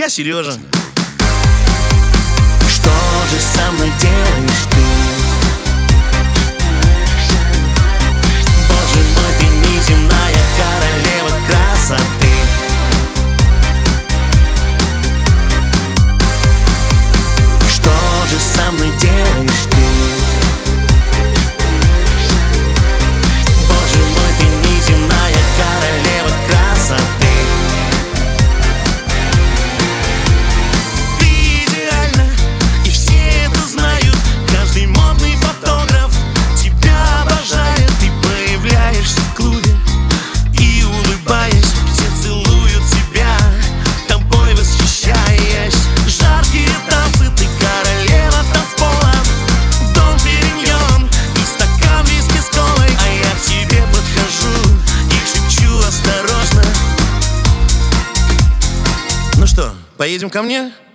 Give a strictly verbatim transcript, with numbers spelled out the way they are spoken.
Сережа. Что же со мной делаешь ты? Боже мой, ты неземная королева красоты. Что же со мной делаешь ты? Боже мой, ты неземная королева красоты. Ну что, поедем ко мне?